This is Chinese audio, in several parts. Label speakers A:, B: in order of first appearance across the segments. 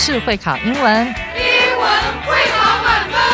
A: 就是会考英文，
B: 英文会考满分。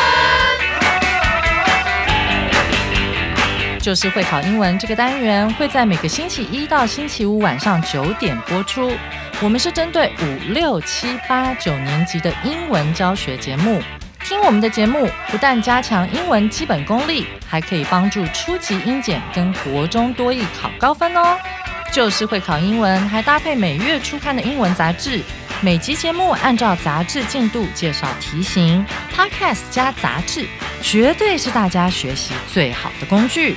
A: 就是会考英文这个单元会在每个星期一到星期五晚上9点播出。我们是针对5、6、7、8、9年级的英文教学节目。听我们的节目，不但加强英文基本功力，还可以帮助初级英检跟国中多益考高分哦。就是会考英文，还搭配每月初刊的英文杂志。每集节目按照杂志进度介绍题型 ，Podcast 加杂志，绝对是大家学习最好的工具。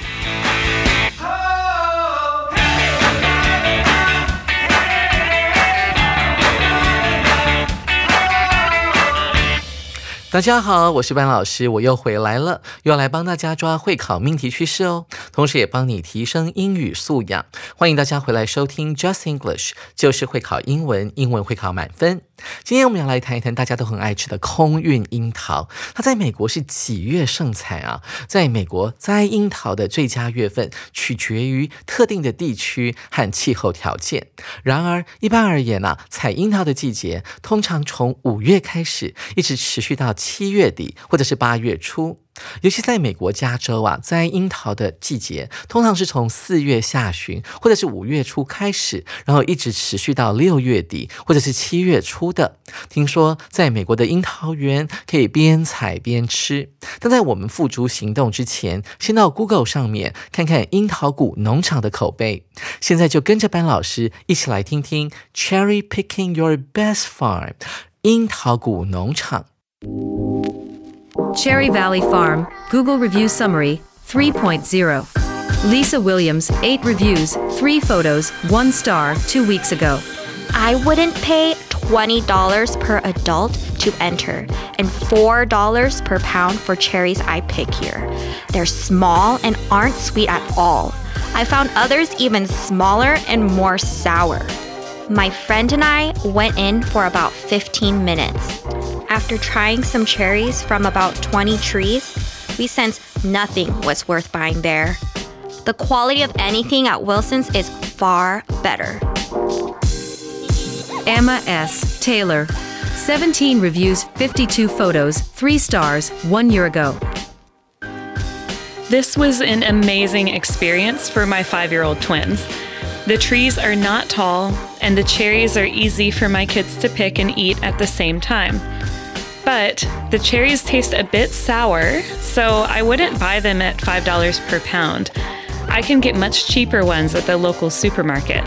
C: 大家好，我是班老师，我又回来了，又要来帮大家抓会考命题趋势哦，同时也帮你提升英语素养。欢迎大家回来收听 Just English， 就是会考英文，英文会考满分。今天我们要来谈一谈大家都很爱吃的空运樱桃，它在美国是几月盛产啊？在美国摘樱桃的最佳月份取决于特定的地区和气候条件。然而一般而言啊，采樱桃的季节通常从5月开始，一直持续到7月底或者是8月初。尤其在美国加州啊，摘樱桃的季节通常是从4月下旬或者是5月初开始，然后一直持续到6月底或者是7月初的。听说在美国的樱桃园可以边采边吃，但在我们付诸行动之前，先到 Google 上面看看樱桃谷农场的口碑。现在就跟着班老师一起来听听 Cherry Picking Your Best Farm 樱桃谷農場。
D: Cherry Valley Farm, Google Review Summary, 3.0. Lisa Williams, 8 reviews, 3 photos, 1 star, 2 weeks ago.
E: I wouldn't pay $20 per adult to enter and $4 per pound for cherries I pick here. They're small and aren't sweet at all. I found others even smaller and more sour. My friend and I went in for about 15 minutes. After trying some cherries from about 20 trees, we sensed nothing was worth buying there. The quality of anything at Wilson's is far better.
D: Emma S. Taylor, 17 reviews, 52 photos, 3 stars, 1 year ago.
F: This was an amazing experience for my 5-year-old twins. The trees are not tall, and the cherries are easy for my kids to pick and eat at the same time. But the cherries taste a bit sour, so I wouldn't buy them at $5 per pound. I can get much cheaper ones at the local supermarket.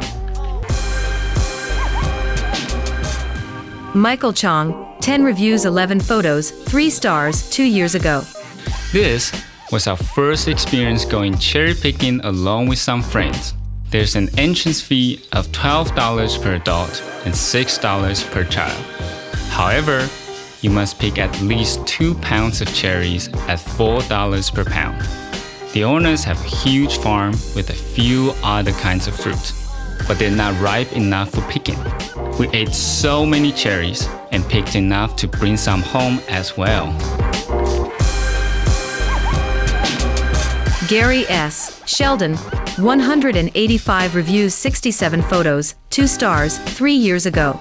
D: Michael Chong, 10 reviews, 11 photos, 3 stars, 2 years ago.
G: This was our first experience going cherry picking along with some friends. There's an entrance fee of $12 per adult and $6 per child. However, you must pick at least 2 pounds of cherries at $4 per pound. The owners have a huge farm with a few other kinds of fruit, but they're not ripe enough for picking. We ate so many cherries and picked enough to bring some home as well.
D: Gary S. Sheldon, 185 reviews, 67 photos, 2 stars, 3 years ago.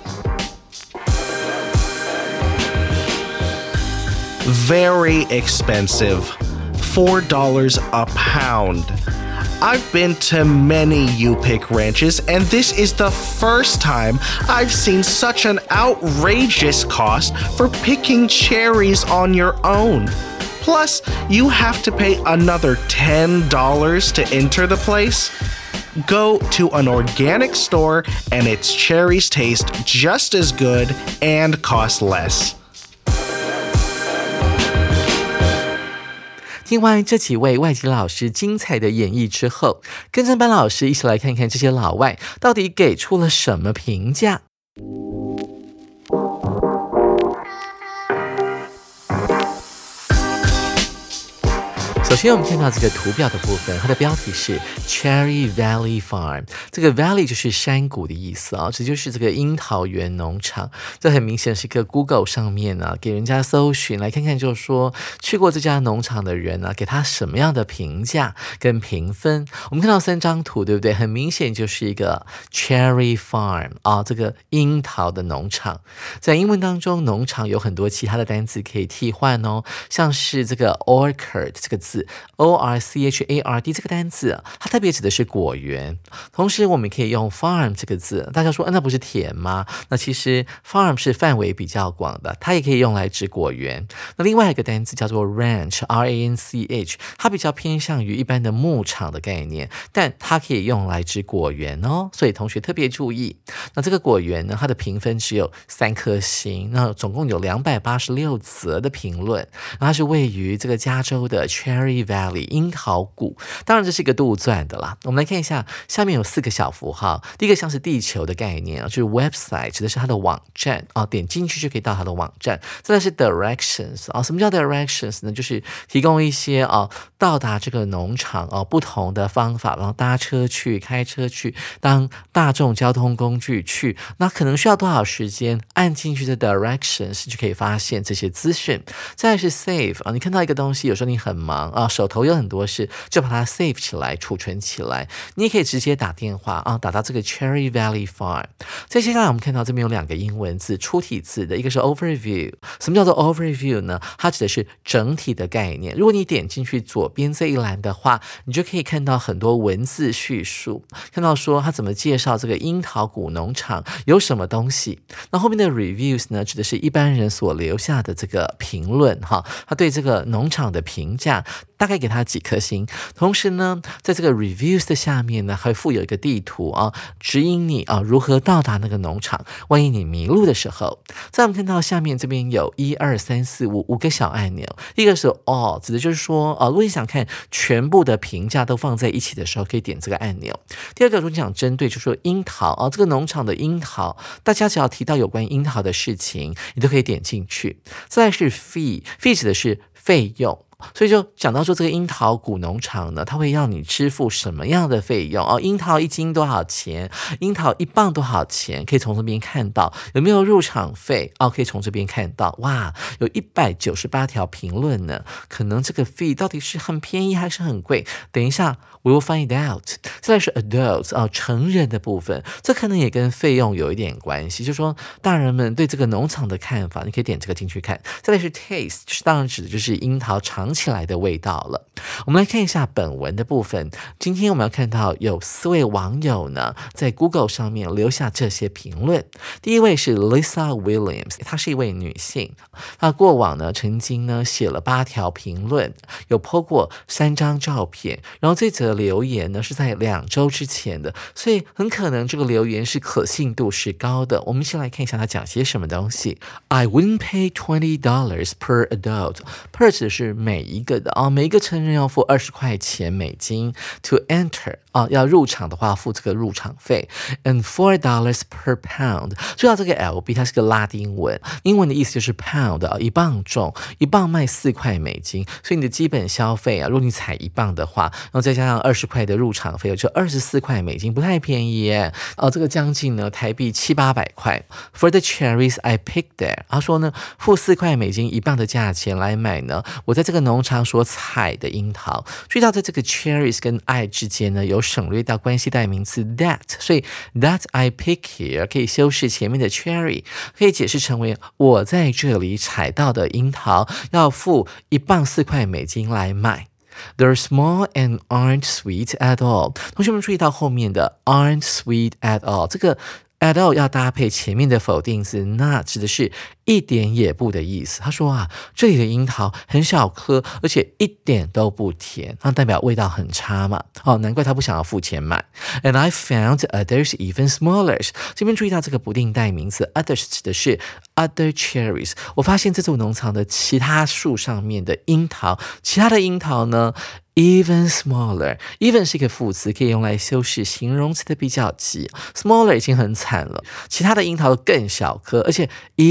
H: Very expensive. $4 a pound. I've been to many U-Pick ranches, and this is the first time I've seen such an outrageous cost for picking cherries on your own. Plus, you have to pay another $10 to enter the place. Go to an organic store, and its cherries taste just as good and cost less.
C: 听完这几位外籍老师精彩的演绎之后，跟着班老师一起来看看这些老外到底给出了什么评价。首首先我们看到这个图表的部分，它的标题是 Cherry Valley Farm， 这个 Valley 就是山谷的意思啊，这就是这个樱桃园农场。这很明显是一个 Google 上面啊，给人家搜寻来看看，就是说去过这家农场的人啊，给他什么样的评价跟评分。我们看到3张图，对不对？很明显就是一个 Cherry Farm 啊，这个樱桃的农场。在英文当中，农场有很多其他的单词可以替换哦，像是这个 orchard 这个字 O-R-C-H-A-R-D 这个单字，它特别指的是果园。同时我们可以用 farm 这个字，大家说那不是田吗？那其实 farm 是范围比较广的，它也可以用来指果园。那另外一个单字叫做 ranch R-A-N-C-H， 它比较偏向于一般的牧场的概念，但它可以用来指果园哦，所以同学特别注意。那这个果园呢，它的评分只有3颗星，那总共有286则的评论。它是位于这个加州的 Cherry Valley 樱桃谷，当然这是一个杜撰的啦。我们来看一下，下面有4个小符号，第一个像是地球的概念就是 website， 指的是它的网站啊，点进去就可以到它的网站。再来是 directions 啊，什么叫 directions 呢？就是提供一些到达这个农场不同的方法，然后搭车去、开车去、当大众交通工具去，那可能需要多少时间？按进去的 directions 就可以发现这些资讯。再来是 save 啊，你看到一个东西，有时候你很忙啊，手头有很多事，就把它 save 起来，储存起来。你也可以直接打电话啊，打到这个 Cherry Valley Farm。再接下来我们看到这边有2个英文字，出体字的，一个是 overview。什么叫做 overview 呢？它指的是整体的概念。如果你点进去左边这一栏的话，你就可以看到很多文字叙述，看到说它怎么介绍这个樱桃谷农场有什么东西。那后面的 reviews 呢，指的是一般人所留下的这个评论哈，他对这个农场的评价大概给他几颗星。同时呢，在这个 reviews 的下面呢，还附有一个地图啊，指引你啊如何到达那个农场，万一你迷路的时候。再我们看到下面这边有1、2、3、4、5个小按钮，一个是 all， 指的就是说如果你想看全部的评价都放在一起的时候，可以点这个按钮。第二个，如果你想针对就是说樱桃这个农场的樱桃，大家只要提到有关樱桃的事情，你都可以点进去。再来是 fee 指的是费用。所以就讲到说这个樱桃谷农场呢，它会让你支付什么样的费用樱桃1斤多少钱，樱桃1磅多少钱，可以从这边看到。有没有入场费可以从这边看到。哇，有198条评论呢，可能这个 fee 到底是很便宜还是很贵，等一下 we will find out。 再来是 adults 成人的部分，这可能也跟费用有一点关系，就是说大人们对这个农场的看法，你可以点这个进去看。再来是 taste， 就是当然指的就是樱桃尝起来的味道了。我们来看一下本文的部分。今天我们要看到有4位网友呢，在 Google 上面留下这些评论。第一位是 Lisa Williams， 她是一位女性，她过往呢曾经呢写了8条评论，有 po 过3张照片，然后这则留言呢是在2周之前的，所以很可能这个留言是可信度是高的。我们先来看一下她讲些什么东西。 I wouldn't pay $20 per adult， per 指的是每一个的每一个成人要付$20美金 to enter要入场的话付这个入场费 and $4 per pound。 注意到这个 LB 它是个拉丁文，英文的意思就是 pound 1磅重，1磅卖$4美金，所以你的基本消费如果你采1磅的话，然后再加上$20的入场费，就$24美金，不太便宜耶这个将近呢台币700-800块。 For the cherries I picked there， 他说呢付$4美金1磅的价钱来买呢我在这个农场所采的樱桃。注意到在这个 cherries 跟 I 之间呢有省略到关系代名词 that， 所以 that I pick here 可以修饰前面的 cherry， 可以解释成为我在这里采到的樱桃要付1磅$4美金来买。They're small and aren't sweet at all。 同学们注意到后面的 aren't sweet at all， 这个 at all 要搭配前面的否定字 not， 指的是一点也不的意思。他说这里的樱桃很小颗，而且一点都不甜，那代表味道很差嘛难怪他不想要付钱买。 And I found others even smaller， 这边注意到这个不定代名词 others 指的是 other cherries， 我发现这座农场的其他树上面的樱桃，其他的樱桃呢even smaller， even 是一个副词，可以用来修饰形容词的比较级。 smaller 已经很惨了，其他的樱桃更小颗，而且 even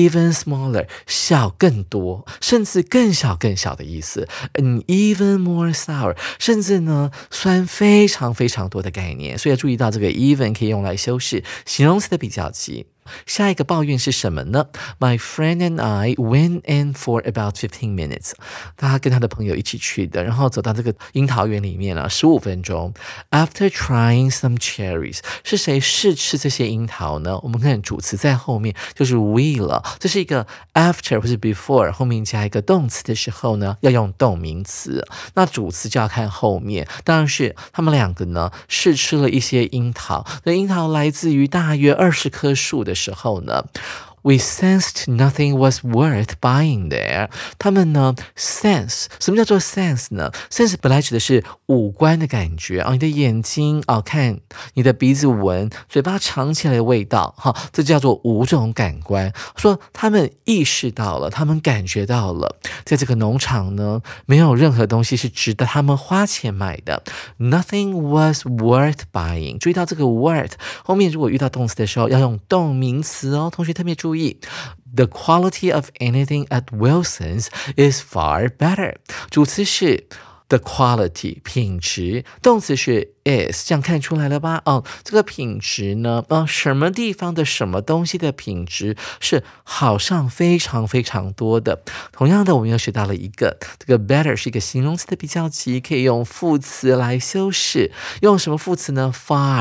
C: smaller 小更多，甚至更小更小的意思。An even more sour 甚至呢酸非常非常多的概念，所以要注意到这个 even 可以用来修饰形容词的比较级。下一个抱怨是什么呢？ My friend and I went in for about 15 minutes. 他跟他的朋友一起去的，然后走到这个樱桃园里面15分钟。After trying some cherries， 是谁试吃这些樱桃呢？我们看主词在后面就是 we 了，这是一个 after 或是 before 后面加一个动词的时候呢，要用动名词。那主词就要看后面，当然是他们两个呢试吃了一些樱桃，那樱桃来自于大约20棵树的时候呢，We sensed nothing was worth buying there. 他们呢 sense， 什么叫做 sense 呢？ sense 本来指的是五官的感觉你的眼睛看，你的鼻子闻，嘴巴尝起来的味道这叫做五种感官。说他们意识到了，他们感觉到了，在这个农场呢，没有任何东西是值得他们花钱买的。Nothing was worth buying. 注意到这个 worth 后面如果遇到动词的时候要用动名词同学特别注意。The quality of anything at Wilson's is far better. 主词是 the quality 品质，动词是 is， 这样看出来了吧？这个品质呢，什么地方的什么东西的品质是好上非常非常多的。同样的，我们又学到了一个，这个 better 是一个形容词的比较级，可以用副词来修饰。用什么副词呢？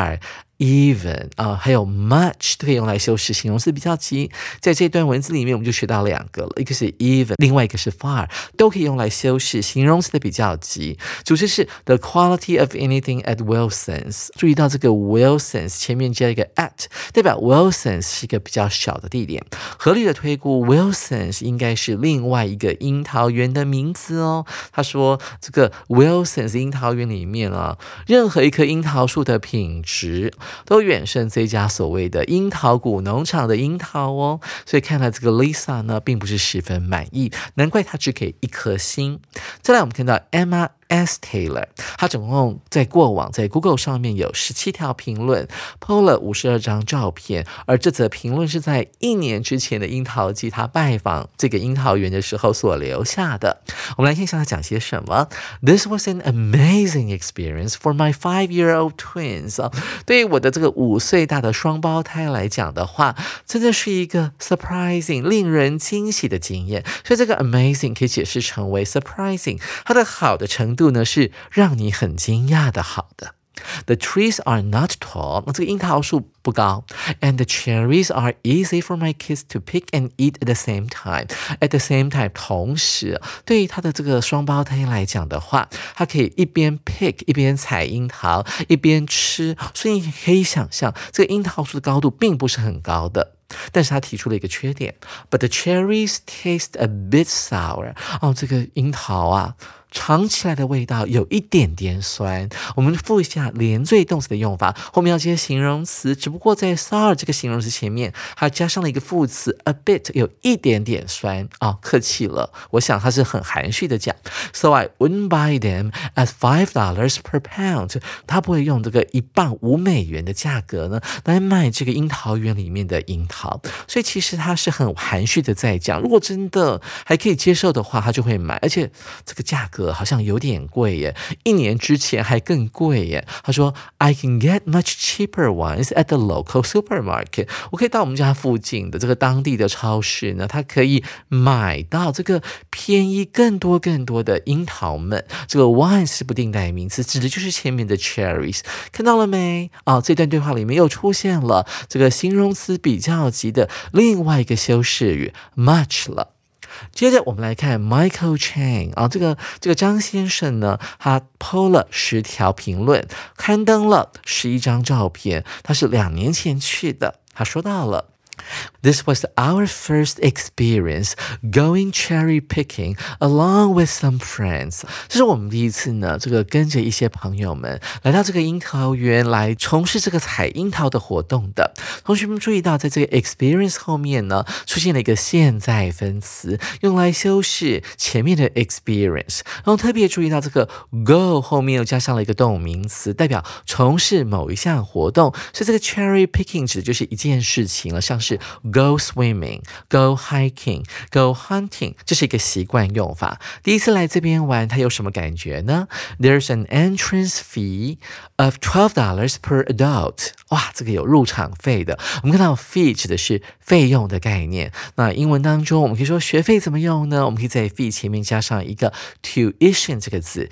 C: far。even 还有 much 都可以用来修饰形容词比较级。在这段文字里面我们就学到两个了，一个是 even， 另外一个是 far， 都可以用来修饰形容词的比较级。主词是 the quality of anything at Wilson's。 注意到这个 Wilson's 前面加一个 at， 代表 Wilson's 是一个比较小的地点。合理的推估 Wilson's 应该是另外一个樱桃园的名字他说这个 Wilson's 樱桃园里面任何一棵樱桃树的品质都远胜这家所谓的樱桃谷农场的樱桃所以看来这个 Lisa 呢并不是十分满意，难怪她只给1颗星。再来我们看到 Emma S. Taylor， 他总共在过往在 Google 上面有17条评论 po 了52张照片，而这则评论是在1年之前的樱桃季他拜访这个樱桃园的时候所留下的。我们来看一下他讲些什么。 This was an amazing experience for my 5-year-old twins。 对于我的这个5岁大的双胞胎来讲的话，真的是一个 surprising 令人惊喜的经验。所以这个 amazing 可以解释成为 surprising， 它的好的程度呢是让你很惊讶的好的。The trees are not tall， 这个樱桃树不高 ，and the cherries are easy for my kids to pick and eat at the same time. At the same time， 同时，对于他的这个双胞胎来讲的话，他可以一边 pick 一边采樱桃，一边吃，所以你可以想象，这个樱桃树的高度并不是很高的。但是他提出了一个缺点 ，But the cherries taste a bit sour。这个樱桃尝起来的味道有一点点酸。我们复一下连缀动词的用法，后面要接形容词，只不过在 sour 这个形容词前面还加上了一个副词 a bit， 有一点点酸客气了。我想他是很含蓄的讲 ，So I wouldn't buy them at $5 per pound。他不会用这个1磅5美元的价格呢来买这个樱桃园里面的樱桃，所以其实他是很含蓄的在讲，如果真的还可以接受的话，他就会买，而且这个价格好像有点贵耶，1年之前还更贵耶。他说 I can get much cheaper ones at the local supermarket。 我可以到我们家附近的这个当地的超市呢，它可以买到这个便宜更多的樱桃们。这个 ones 是不定代名词，指的就是前面的 cherries。 看到了没这段对话里面又出现了这个形容词比较级的另外一个修饰语 much 了。接着我们来看 Michael Chang 这个张先生呢，他 po 了10条评论，刊登了11张照片，他是2年前去的。他说到了This was our first experience going cherry picking along with some friends。 这是我们第一次呢，这个跟着一些朋友们来到这个樱桃园来从事这个采樱桃的活动的。同学们注意到，在这个 experience 后面呢，出现了一个现在分词，用来修饰前面的 experience。然后特别注意到这个 go 后面又加上了一个动名词，代表从事某一项活动。所以这个 cherry picking 指的就是一件事情了，像是 go swimming、go hiking、go hunting， 这是一个习惯用法。第一次来这边玩，他有什么感觉呢？ There's an entrance fee of $12 per adult。 哇，这个有入场费的。我们看到 fee 指的是费用的概念。那英文当中我们可以说学费怎么用呢？我们可以在 fee 前面加上一个 tuition 这个字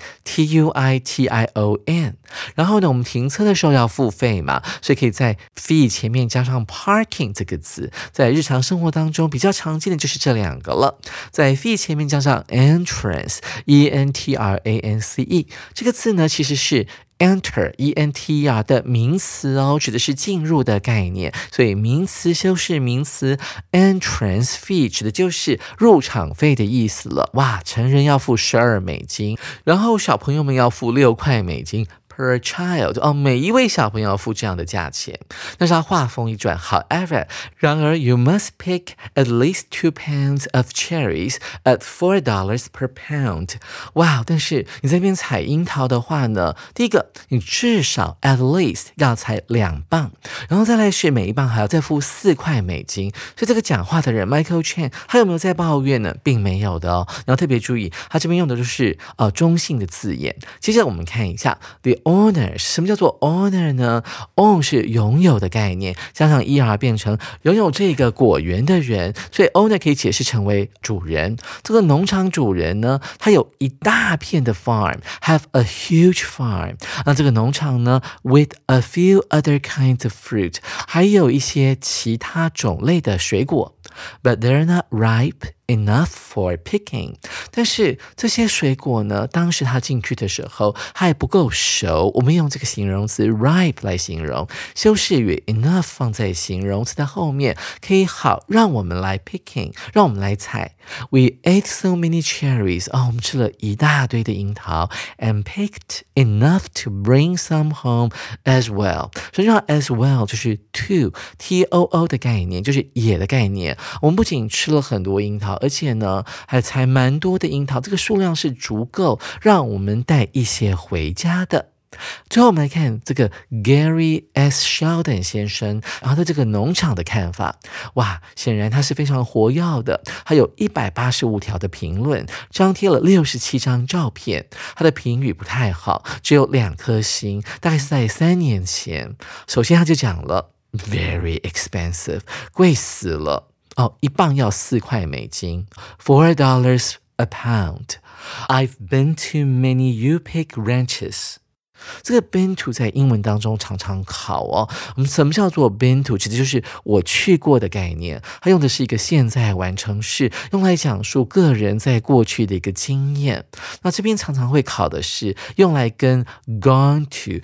C: Tuition。 然后呢，我们停车的时候要付费嘛，所以可以在 fee 前面加上 parking 这个字。在日常生活当中比较常见的就是这两个了。在 fee 前面加上 entrance E-N-T-R-A-N-C-E 这个字呢，其实是Enter E-N-T-R 的名词哦，指的是进入的概念，所以名词修饰名词 entrance fee 指的就是入场费的意思了。哇，成人要付$12，然后小朋友们要付$6。Per child 哦，每一位小朋友要付这样的价钱。但是他话锋一转 ，However， 然而 you must pick at least 2 pounds of cherries at $4 per pound。 哇，但是你在这边采樱桃的话呢，第一个你至少 at least 要采2磅，然后再来是每一磅还要再付$4。所以这个讲话的人 Michael Chen 他有没有在抱怨呢？并没有的哦。然后特别注意，他这边用的就是中性的字眼。接着我们看一下 the owner， 什么叫做 owner 呢？ own 是拥有的概念，加上 er 变成拥有这个果园的人，所以 owner 可以解释成为主人。这个农场主人呢，他有一大片的 farm， have a huge farm。 那这个农场呢 with a few other kinds of fruit， 还有一些其他种类的水果， but they're not ripe enough for picking。 但是这些水果呢，当时他进去的时候还不够熟，我们用这个形容词 ripe 来形容，修饰语 enough 放在形容词的后面，可以好让我们来 picking， 让我们来采。 We ate so many cherries， 我们吃了一大堆的樱桃 and picked enough to bring some home as well。 实际上 as well 就是 too 的概念，就是也的概念。我们不仅吃了很多樱桃，而且呢还采蛮多的樱桃，这个数量是足够让我们带一些回家的。最后我们来看这个 Gary S. Sheldon 先生，然后对这个农场的看法。哇，显然他是非常活跃的，他有185条的评论，张贴了67张照片。他的评语不太好，只有2颗星，大概是在3年前。首先他就讲了 very expensive， 贵死了一磅要$4，$4 a pound。 I've been to many U-Pick ranches。这个 been to 在英文当中常常考我们什么叫做 been to， 指的就是我去过的概念，它用的是一个现在完成式，用来讲述个人在过去的一个经验。那这边常常会考的是用来跟 gone to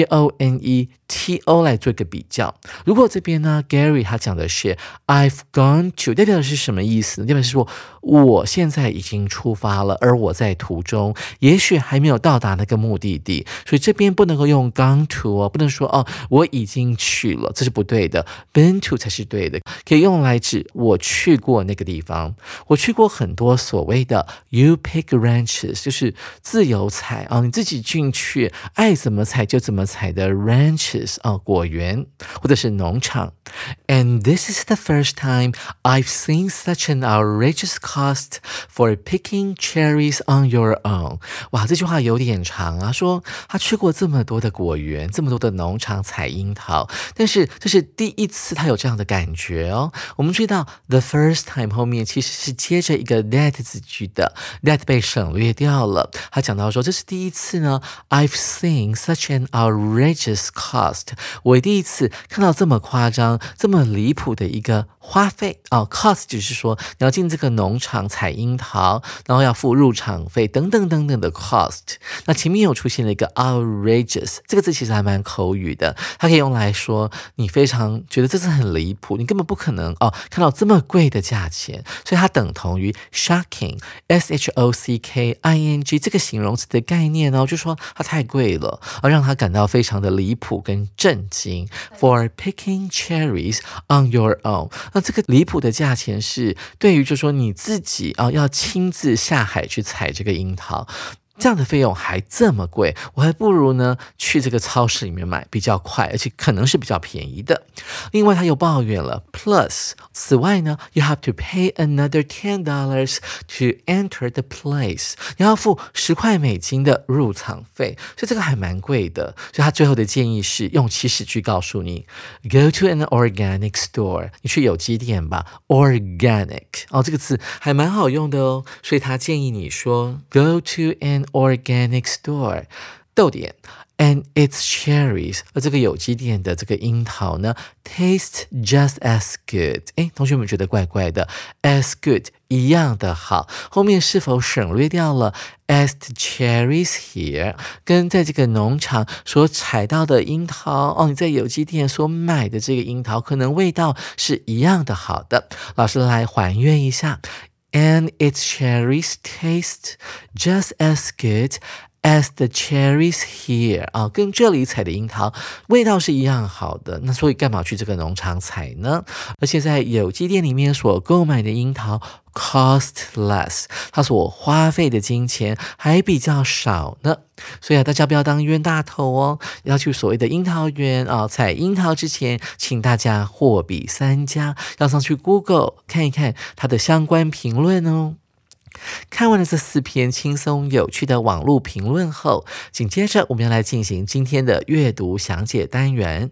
C: G-O-N-E-T-O 来做一个比较。如果这边呢 Gary 他讲的是 I've gone to， 代表的是什么意思呢？代表是说我现在已经出发了，而我在途中，也许还没有到达那个目的地，所以这边不能够用 gone to 不能说我已经去了，这是不对的， been to 才是对的，可以用来指我去过那个地方。我去过很多所谓的 U-Pick ranches， 就是自由采你自己进去爱怎么采就怎么采的 ranches 果园或者是农场。 And this is the first time I've seen such an outrageous cost for picking cherries on your own。 哇，这句话有点长啊，说他去过这么多的果园，这么多的农场采樱桃，但是这是第一次他有这样的感觉哦。我们注意到 the first time 后面其实是接着一个 that 字句的， that 被省略掉了。他讲到说这是第一次呢 I've seen such an outrageous cost， 我第一次看到这么夸张这么离谱的一个花费cost 就是说你要进这个农场采樱桃，然后要付入场费等等等等的 cost。 那前面有出现了一个 outrageous， 这个字其实还蛮口语的，它可以用来说你非常觉得这是很离谱，你根本不可能看到这么贵的价钱，所以它等同于 shocking S-H-O-C-K-I-N-G 这个形容词的概念就说它太贵了，让它感到非常的离谱跟震惊。 For picking cherries on your own， 那这个离谱的价钱是对于就说你自己要亲自下海去采这个樱桃。 这样的费用还这么贵，我还不如呢去这个超市里面买，比较快，而且可能是比较便宜的。另外他又抱怨了 Plus 此外呢 You have to pay another $10 to enter the place， 你要付$10的入场费，所以这个还蛮贵的。所以他最后的建议是用祈使句告诉你 Go to an organic store， 你去有机店吧。 Organic 这个字还蛮好用的哦，所以他建议你说 Go to an organic store， 逗点And its cherries， 而这个有机店的这个樱桃呢 taste just as good。 同学们觉得怪怪的， as good 一样的好，后面是否省略掉了 as the cherries here， 跟在这个农场所采到的樱桃你在有机店所买的这个樱桃可能味道是一样的好的。老师来还原一下， And its cherries taste just as good as the cherries here， 跟这里采的樱桃味道是一样好的，那所以干嘛去这个农场采呢？而且在有机店里面所购买的樱桃 cost less， 它所花费的金钱还比较少呢。所以大家不要当冤大头哦，要去所谓的樱桃园采樱桃之前，请大家货比三家，要上去 Google 看一看它的相关评论哦。看完了这4篇轻松有趣的网络评论后，紧接着我们要来进行今天的阅读详解单元。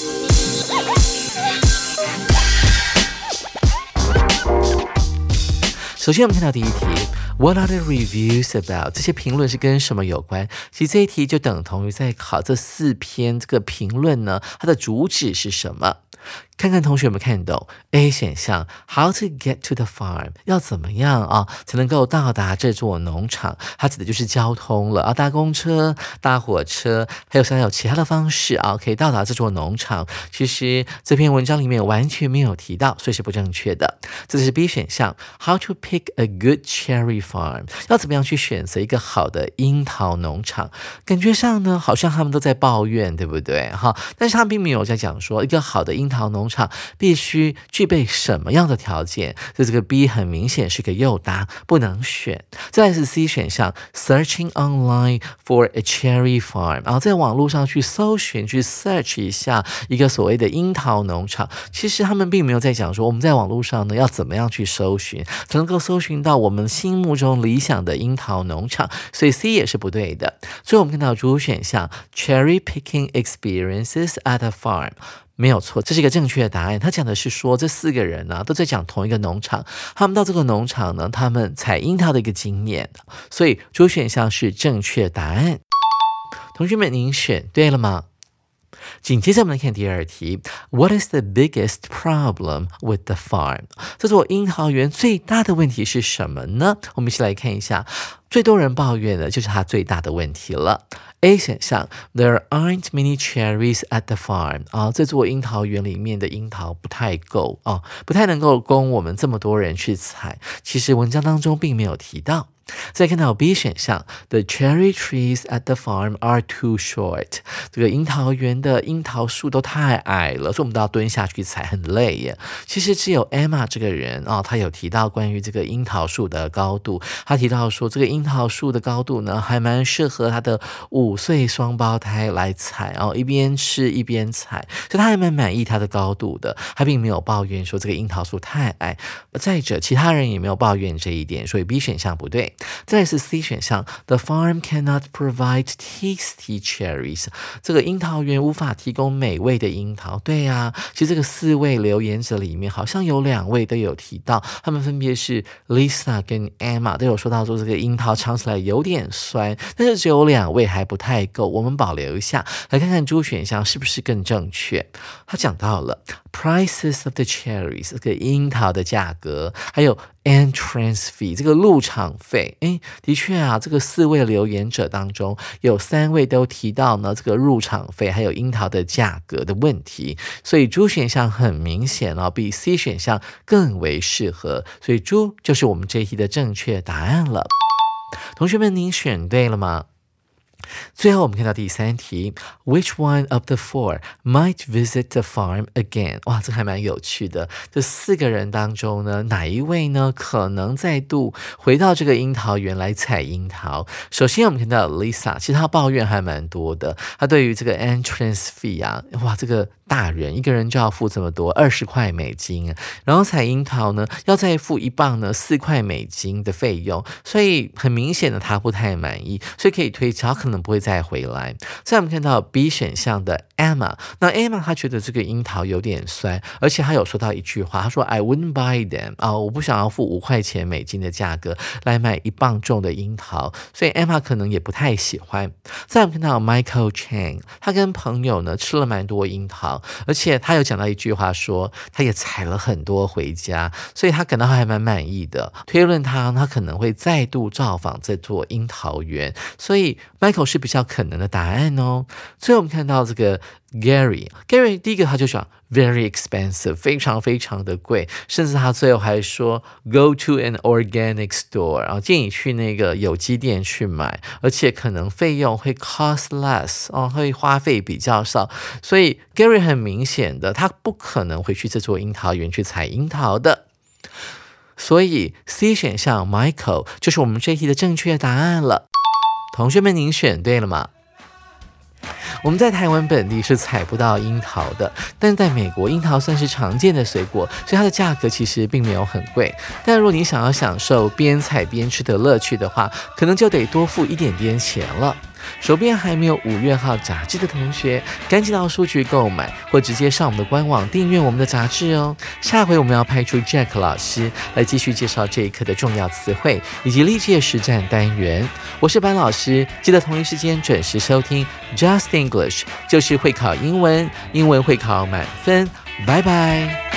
C: 首先我们看到第一题 What are the reviews about？ 这些评论是跟什么有关？其实这一题就等同于在考这4篇这个评论呢，它的主旨是什么？看看同学们看懂 A 选项 How to get to the farm， 要怎么样才能够到达这座农场？它指的就是交通了搭公车、搭火车，还有其他的方式可以到达这座农场。其实这篇文章里面完全没有提到，所以是不正确的。这是 B 选项 How to pick a good cherry farm， 要怎么样去选择一个好的樱桃农场？感觉上呢，好像他们都在抱怨，对不对？但是他们并没有在讲说一个好的樱桃农场必须具备什么样的条件，所以这个 B 很明显是个诱答，不能选。再来是 C 选项 Searching online for a cherry farm， 然后在网络上去搜寻去 search 一下一个所谓的樱桃农场。其实他们并没有在讲说我们在网络上呢要怎么样去搜寻才能够搜寻到我们心目中理想的樱桃农场，所以 C 也是不对的。所以我们看到主选项 Cherry picking experiences at a farm，没有错，这是一个正确的答案。他讲的是说这4个人都在讲同一个农场，他们到这个农场呢，他们采樱桃的一个经验，所以主选项是正确答案。同学们，您选对了吗？紧接着我们来看第2题 What is the biggest problem with the farm？ 这座樱桃园最大的问题是什么呢？我们一起来看一下，最多人抱怨的就是它最大的问题了。A 选项 There aren't many cherries at the farm， 这座樱桃园里面的樱桃不太够不太能够供我们这么多人去采。其实文章当中并没有提到。再看到 B 选项 The cherry trees at the farm are too short， 这个樱桃园的樱桃树都太矮了，所以我们都要蹲下去采，很累耶。其实只有 Emma 这个人他有提到关于这个樱桃树的高度，他提到说这个樱桃树的高度呢还蛮适合他的5岁双胞胎来采一边吃一边采，所以他还蛮满意他的高度的，他并没有抱怨说这个樱桃树太矮。再者其他人也没有抱怨这一点，所以 B 选项不对。再来是 C 选项 The farm cannot provide tasty cherries， 这个樱桃园无法提供美味的樱桃。对呀，其实这个4位留言者里面好像有2位都有提到，他们分别是 Lisa 跟 Emma 都有说到说这个樱桃尝起来有点酸，但是只有2位还不太够，我们保留一下，来看看主选项是不是更正确。他讲到了 Prices of the cherries， 这个樱桃的价格，还有entrance fee 这个入场费。的确这个4位留言者当中有3位都提到呢这个入场费还有樱桃的价格的问题，所以猪选项很明显比 C 选项更为适合，所以猪就是我们这一题的正确答案了。同学们，您选对了吗？ 最后我们看到第3题 Which one of the 4 might visit the farm again？ 哇，这还蛮有趣的。这4个人当中呢，哪一位呢可能再度回到这个樱桃园来采樱桃？首先我们看到 Lisa， 其实她抱怨还蛮多的。她对于这个 entrance fee 啊，哇，这个大人一个人就要付这么多，20块美金，然后采樱桃呢要再付1磅呢4块美金的费用，所以很明显的她不太满意，所以可以推敲可能不会再回来。再我们看到 B 选项的 Emma， 那 Emma 她觉得这个樱桃有点酸，而且她有说到一句话，她说 I wouldn't buy them， 我不想要付5块钱美金的价格来买1磅重的樱桃，所以 Emma 可能也不太喜欢。再我们看到 Michael Chang， 他跟朋友呢吃了蛮多樱桃，而且他有讲到一句话说他也采了很多回家，所以他感到还蛮满意的，推论他可能会再度造访这座樱桃园，所以 Michael 是比较可能的答案哦。最后我们看到这个 Gary 第一个他就讲 very expensive， 非常非常的贵，甚至他最后还说 go to an organic store， 然后建议去那个有机店去买，而且可能费用会 cost less， 会花费比较少，所以 Gary 很明显的他不可能回去这座樱桃园去采樱桃的。所以 C 选项 Michael 就是我们这一题的正确答案了。同学们，您选对了吗？我们在台湾本地是采不到樱桃的，但在美国樱桃算是常见的水果，所以它的价格其实并没有很贵。但如果你想要享受边采边吃的乐趣的话，可能就得多付一点点钱了。手边还没有5月号杂志的同学，赶紧到书局购买，或直接上我们的官网订阅我们的杂志哦。下回我们要派出 Jack 老师来继续介绍这一课的重要词汇以及历届实战单元。我是班老师，记得同一时间准时收听 Just English， 就是会考英文，英文会考满分。拜拜。